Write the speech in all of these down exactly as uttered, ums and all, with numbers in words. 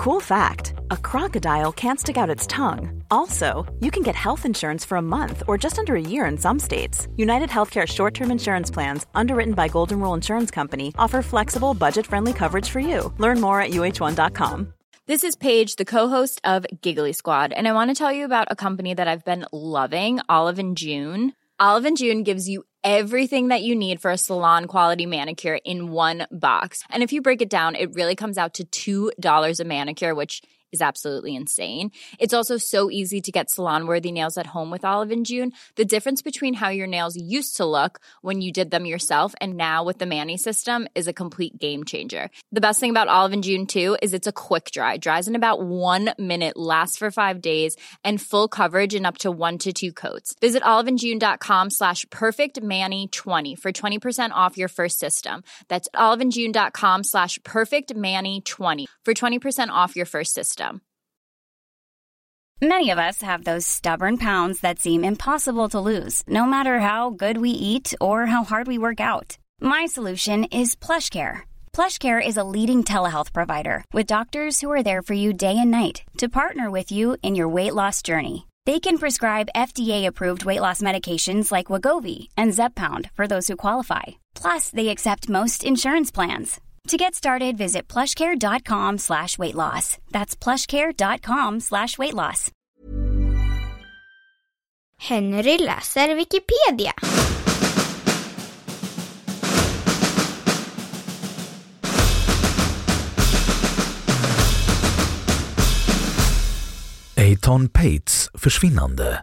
Cool fact, a crocodile can't stick out its tongue. Also, you can get health insurance for a month or just under a year in some states. United Healthcare short-term insurance plans, underwritten by Golden Rule Insurance Company, offer flexible, budget-friendly coverage for you. Learn more at U H one dot com. This is Paige, the co-host of Giggly Squad, and I want to tell you about a company that I've been loving, Olive and June. Olive and June gives you everything that you need for a salon-quality manicure in one box. And if you break it down, it really comes out to two dollars a manicure, which is absolutely insane. It's also so easy to get salon-worthy nails at home with Olive and June. The difference between how your nails used to look when you did them yourself and now with the Mani system is a complete game changer. The best thing about Olive and June, too, is it's a quick dry. Dries in about one minute, lasts for five days, and full coverage in up to one to two coats. Visit oliveandjune.com slash perfectmani20 for twenty percent off your first system. That's oliveandjune.com slash perfectmani20 for twenty percent off your first system. Many of us have those stubborn pounds that seem impossible to lose, no matter how good we eat or how hard we work out. My solution is PlushCare. PlushCare is a leading telehealth provider with doctors who are there for you day and night to partner with you in your weight loss journey. They can prescribe F D A-approved weight loss medications like Wegovy and Zepbound for those who qualify. Plus, they accept most insurance plans. To get started, visit plushcare.com slash weight loss. That's plushcare.com slash weight loss. Henry läser Wikipedia. Eitan Pates försvinnande.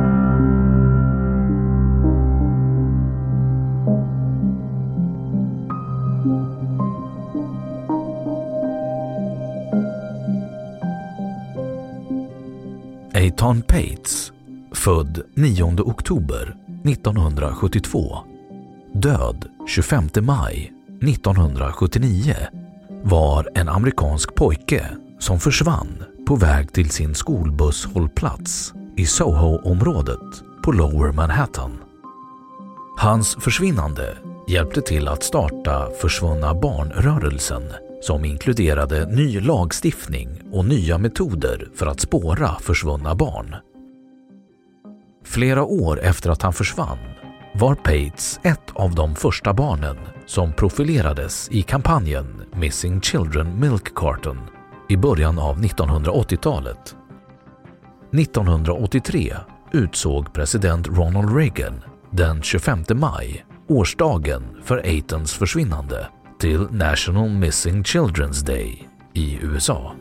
Eitan Pates, född nionde oktober nittonhundrasjuttiotvå, död tjugofemte maj nittonhundrasjuttionio, var en amerikansk pojke som försvann på väg till sin skolbusshållplats i Soho-området på Lower Manhattan. Hans försvinnande hjälpte till att starta Försvunna barnrörelsen, som inkluderade ny lagstiftning och nya metoder för att spåra försvunna barn. Flera år efter att han försvann var Pates ett av de första barnen som profilerades i kampanjen Missing Children Milk Carton i början av nittonhundraåttiotalet. nittonhundraåttiotre utsåg president Ronald Reagan den tjugofemte maj, årsdagen för Eitans försvinnande, till National Missing Children's Day i U S A.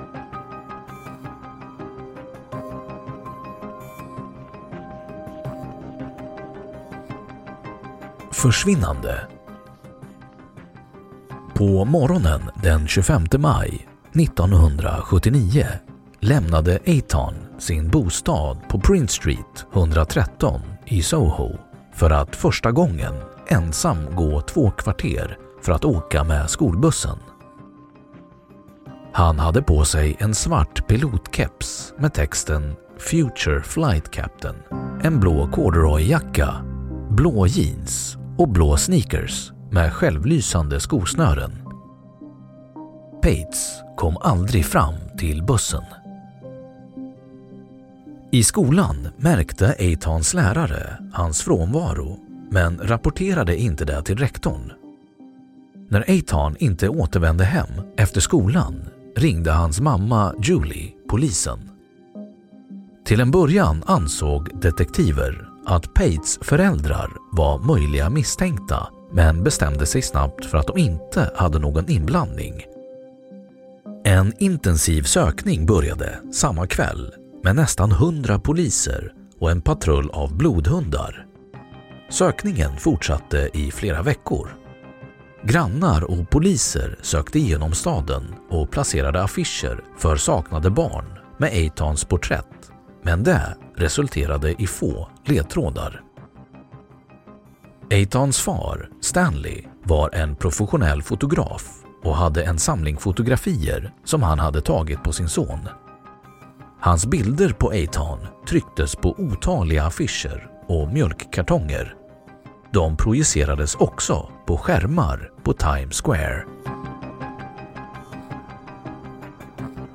Försvinnande. På morgonen den tjugofemte maj nittonhundrasjuttionio lämnade Eitan sin bostad på Prince Street etthundratretton i Soho för att första gången ensam gå två kvarter för att åka med skolbussen. Han hade på sig en svart pilotkeps med texten Future Flight Captain, en blå corduroyjacka, blå jeans och blå sneakers med självlysande skosnören. Pates kom aldrig fram till bussen. I skolan märkte Eitans lärare hans frånvaro, men rapporterade inte det till rektorn. När Eitan inte återvände hem efter skolan ringde hans mamma Julie polisen. Till en början ansåg detektiver att Pates föräldrar var möjliga misstänkta, men bestämde sig snabbt för att de inte hade någon inblandning. En intensiv sökning började samma kväll med nästan hundra poliser och en patrull av blodhundar. Sökningen fortsatte i flera veckor. Grannar och poliser sökte igenom staden och placerade affischer för saknade barn med Eitans porträtt, men det resulterade i få ledtrådar. Eitans far, Stanley, var en professionell fotograf och hade en samling fotografier som han hade tagit på sin son. Hans bilder på Eitan trycktes på otaliga affischer och mjölkkartonger. De projicerades också på skärmar på Times Square.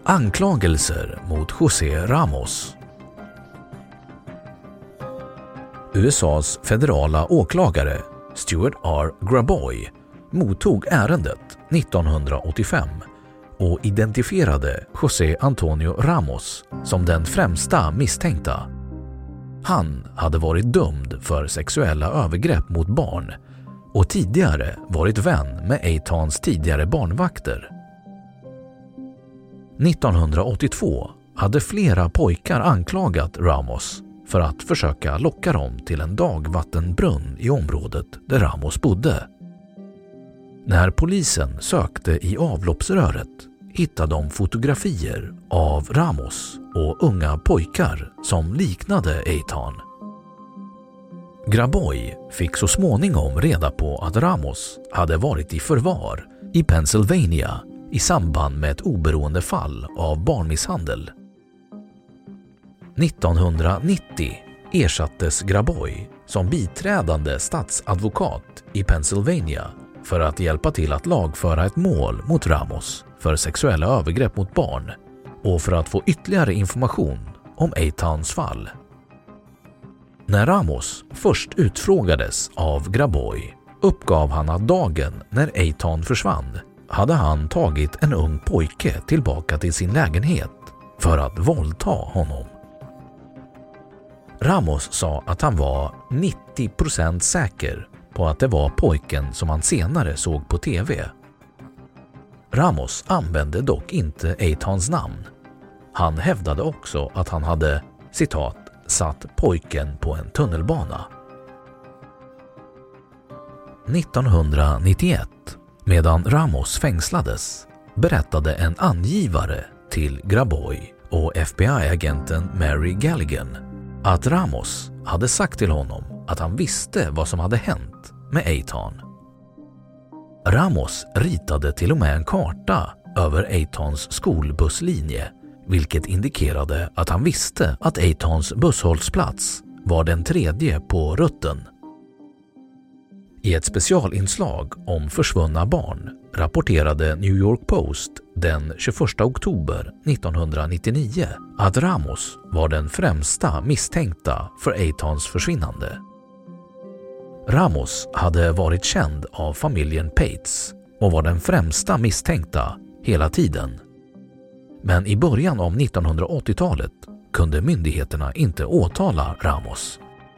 Anklagelser mot José Ramos. U S A:s federala åklagare Stuart R. Graboy mottog ärendet nittonhundraåttiofem och identifierade José Antonio Ramos som den främsta misstänkta. Han hade varit dömd för sexuella övergrepp mot barn och tidigare varit vän med Aitons tidigare barnvakter. nittonhundraåttiotvå hade flera pojkar anklagat Ramos för att försöka locka dem till en dagvattenbrunn i området där Ramos bodde. När polisen sökte i avloppsröret hittade de fotografier av Ramos och unga pojkar som liknade Aiton. Graboy fick så småningom reda på att Ramos hade varit i förvar i Pennsylvania i samband med ett oberoende fall av barnmisshandel. nittonhundranittio ersattes Graboy som biträdande statsadvokat i Pennsylvania för att hjälpa till att lagföra ett mål mot Ramos för sexuella övergrepp mot barn och för att få ytterligare information om Aitons fall. När Ramos först utfrågades av Graboy uppgav han att dagen när Aiton försvann hade han tagit en ung pojke tillbaka till sin lägenhet för att våldta honom. Ramos sa att han var nittio procent säker på att det var pojken som han senare såg på tv. Ramos använde dock inte Aitons namn. Han hävdade också att han hade, citat, satt pojken på en tunnelbana. nittonhundranittioett, medan Ramos fängslades, berättade en angivare till Graboy och F B I-agenten Mary Galligan att Ramos hade sagt till honom att han visste vad som hade hänt med Aiton. Ramos ritade till och med en karta över Aitons skolbusslinje, vilket indikerade att han visste att Aitons busshållplats var den tredje på rutten. I ett specialinslag om försvunna barn rapporterade New York Post den tjugoförsta oktober nittonhundranittionio att Ramos var den främsta misstänkta för Aitons försvinnande. Ramos hade varit känd av familjen Pates och var den främsta misstänkta hela tiden. Men i början av nittonhundraåttiotalet kunde myndigheterna inte åtala Ramos.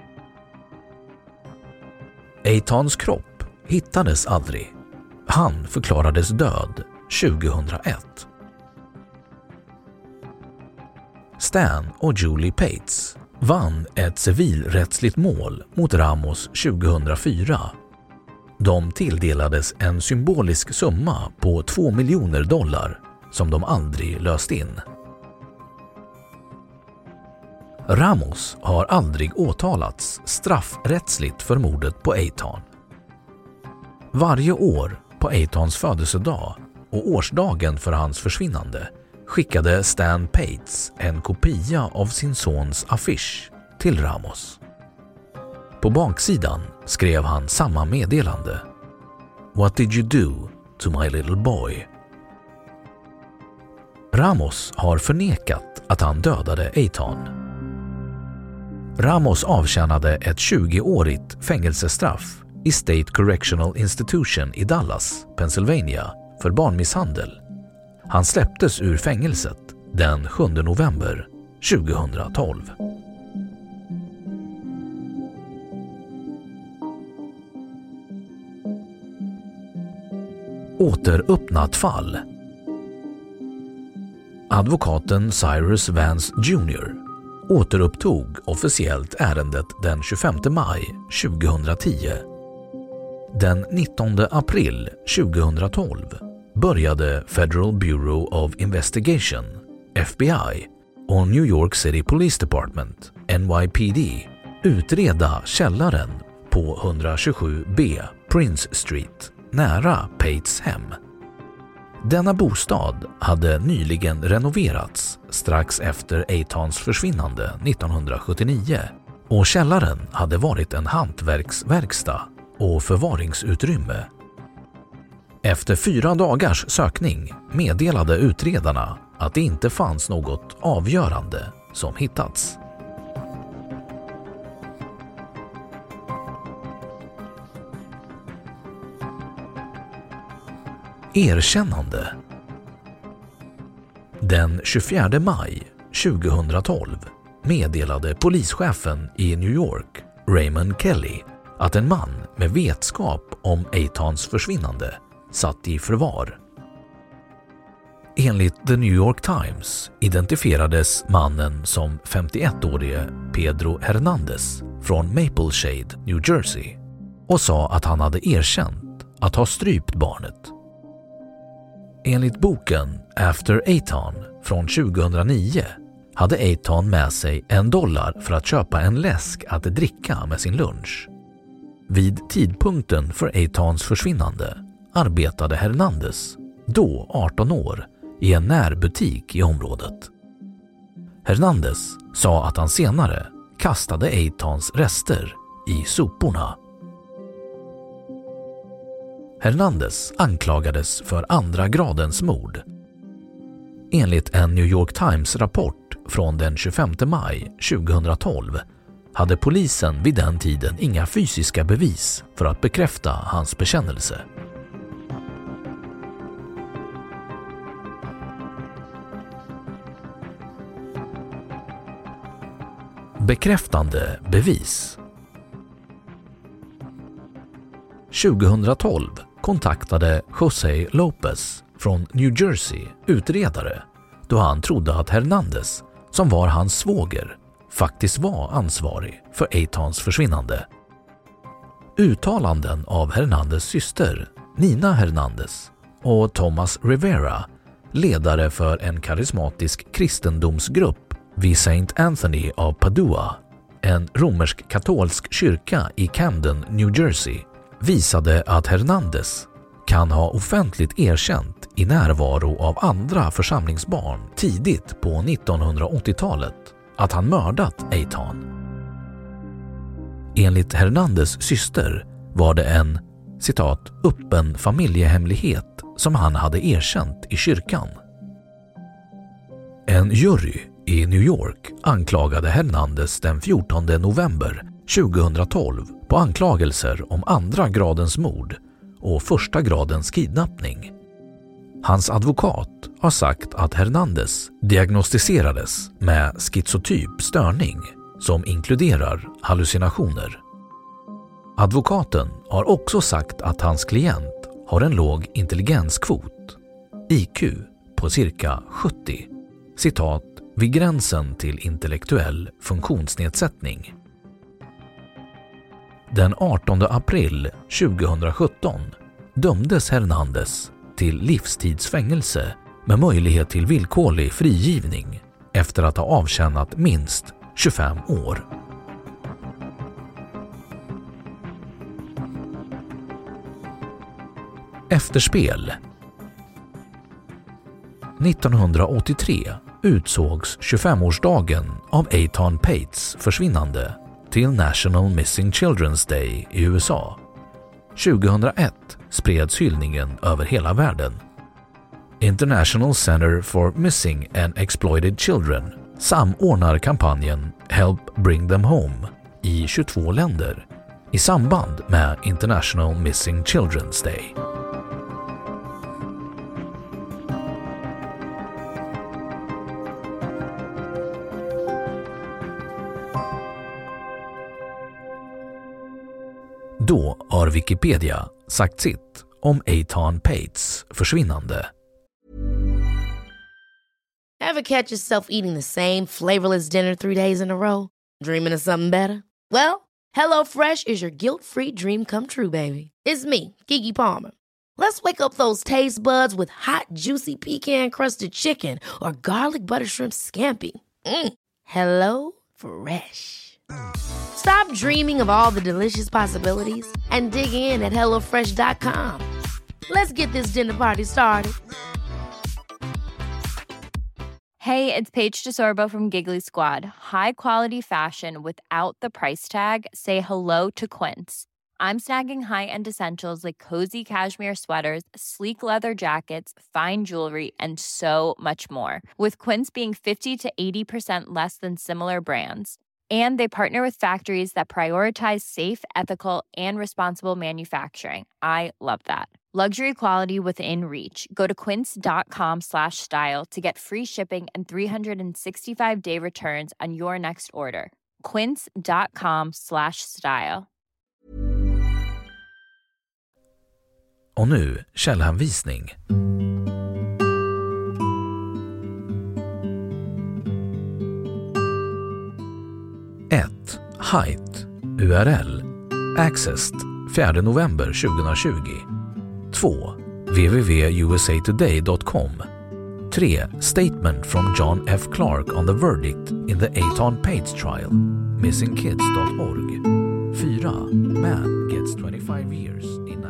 Aitons kropp hittades aldrig. Han förklarades död tjugohundraett. Stan och Julie Pates vann ett civilrättsligt mål mot Ramos tjugohundrafyra. De tilldelades en symbolisk summa på två miljoner dollar som de aldrig löst in. Ramos har aldrig åtalats straffrättsligt för mordet på Aiton. Varje år på Aitons födelsedag och årsdagen för hans försvinnande skickade Stan Pates en kopia av sin sons affisch till Ramos. På baksidan skrev han samma meddelande: "What did you do to my little boy?" Ramos har förnekat att han dödade Aiton. Ramos avtjänade ett tjugoårigt fängelsestraff i State Correctional Institution i Dallas, Pennsylvania, för barnmisshandel. Han släpptes ur fängelset den sjunde november tjugohundratolv. Återöppnat fall. Advokaten Cyrus Vance junior återupptog officiellt ärendet den tjugofemte maj tjugohundratio. Den nittonde april tjugohundratolv började Federal Bureau of Investigation, F B I, och New York City Police Department, N Y P D, utreda källaren på etthundratjugosju B Prince Street nära Pates hem. Denna bostad hade nyligen renoverats strax efter Aitons försvinnande nittonhundrasjuttionio och källaren hade varit en hantverksverkstad och förvaringsutrymme. Efter fyra dagars sökning meddelade utredarna att det inte fanns något avgörande som hittats. Erkännande. Den tjugofjärde maj tjugohundratolv meddelade polischefen i New York, Raymond Kelly, att en man med vetskap om Eitans försvinnande satt i förvar. Enligt The New York Times identifierades mannen som femtioettårige Pedro Hernandez från Maple Shade, New Jersey, och sa att han hade erkänt att ha strypt barnet. Enligt boken After Eitan från tjugohundranio hade Eitan med sig en dollar för att köpa en läsk att dricka med sin lunch. Vid tidpunkten för Eitans försvinnande arbetade Hernandez, då arton år, i en närbutik i området. Hernandez sa att han senare kastade Eitans rester i soporna. Hernandez anklagades för andra gradens mord. Enligt en New York Times-rapport från den tjugofemte maj tjugohundratolv hade polisen vid den tiden inga fysiska bevis för att bekräfta hans bekännelse. Bekräftande bevis. tjugohundratolv kontaktade José Lopez från New Jersey utredare då han trodde att Hernandez, som var hans svåger, faktiskt var ansvarig för Eitans försvinnande. Uttalanden av Hernandez syster, Nina Hernandez, och Thomas Rivera, ledare för en karismatisk kristendomsgrupp vid Saint Anthony av Padua, en romersk-katolsk kyrka i Camden, New Jersey, visade att Hernandez kan ha offentligt erkänt i närvaro av andra församlingsbarn tidigt på nittonhundraåttiotalet att han mördat Eitan. Enligt Hernandez syster var det en, citat, öppen familjehemlighet som han hade erkänt i kyrkan. En jury i New York anklagade Hernandez den fjortonde november tjugohundratolv på anklagelser om andra gradens mord och första gradens kidnappning. Hans advokat har sagt att Hernandez diagnostiserades med schizotyp störning som inkluderar hallucinationer. Advokaten har också sagt att hans klient har en låg intelligenskvot, I Q, på cirka sjuttio, citat, vid gränsen till intellektuell funktionsnedsättning. Den artonde april tjugohundrasjutton dömdes Hernandez till livstidsfängelse med möjlighet till villkorlig frigivning efter att ha avtjänat minst tjugofem år. Efterspel. nittonhundraåttiotre utsågs tjugofemårsdagen av Eitan Pates försvinnande till National Missing Children's Day i U S A. tjugohundraett spreds hyllningen över hela världen. International Center for Missing and Exploited Children samordnar kampanjen Help Bring Them Home i tjugotvå länder i samband med International Missing Children's Day. Då har Wikipedia sagt sitt om Eitan Pates försvinnande. Ever catch yourself eating the same flavorless dinner three days in a row? Dreaming of something better? Well, HelloFresh is your guilt-free dream come true, baby. It's me, Keke Palmer. Let's wake up those taste buds with hot, juicy pecan-crusted chicken or garlic butter shrimp scampi. Mm. Hello Fresh. Stop dreaming of all the delicious possibilities and dig in at hello fresh dot com. Let's get this dinner party started. Hey, it's Paige DeSorbo from Giggly Squad. High quality fashion without the price tag. Say hello to Quince. I'm snagging high-end essentials like cozy cashmere sweaters, sleek leather jackets, fine jewelry, and so much more. With Quince being fifty to eighty percent less than similar brands. And they partner with factories that prioritize safe, ethical, and responsible manufacturing. I love that. Luxury quality within reach. Go to quince.com slash style to get free shipping and three sixty-five day returns on your next order. Quince.com slash style. Och nu källhänvisning. ett. Height. U R L. Accessed fjärde november tjugohundratjugo. två. w w w punkt u s a today dot com. tre. Statement from John F. Clark on the verdict in the Aton Pates trial. missing kids dot org. fyra. Man gets twenty-five years in